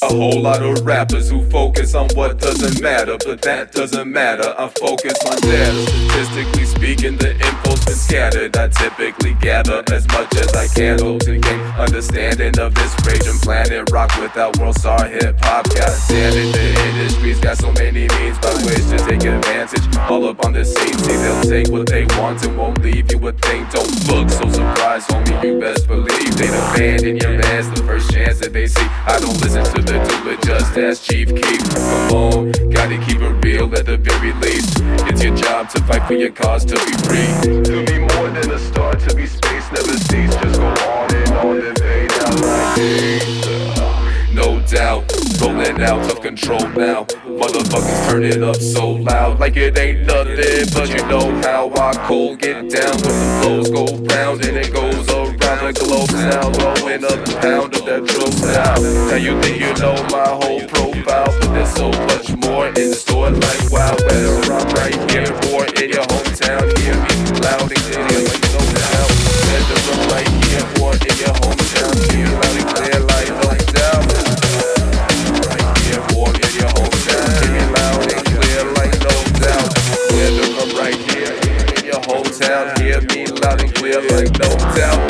A whole lot of rappers who focus on what doesn't matter, but that doesn't matter. I'm focused on data. Statistically speaking, the info's been scattered. I typically gather as much as I can to gain understanding of this raging planet. Rock without world star hip hop. God damn it, the industry's got so many means by which to take advantage. All up on the scene, see they'll take what they want and won't leave you a thing. Don't look so surprised, homie, you best believe they'd abandon your ass the first chance that they see. I don't listen to the dude, just ask Chief Keef. Come on, gotta keep it real at the very least. It's your job to fight for your cause to be free. To be more than a star, to be space never cease. Just go on and fade out like this. No doubt, rolling out of control now. Motherfuckers turn it up so loud, like it ain't nothing. But you know how I cold get down when the flows go round and it goes around the globe now. Blowing up the pound of that drum sound. Now you think you know my whole profile, but there's so much more in store. Like wow, better I'm right here or in your hometown. Hear me loud and clear like no doubt. Better I'm right here or in your hometown. Hear loud and clear like no doubt. Hear me loud and clear like no doubt.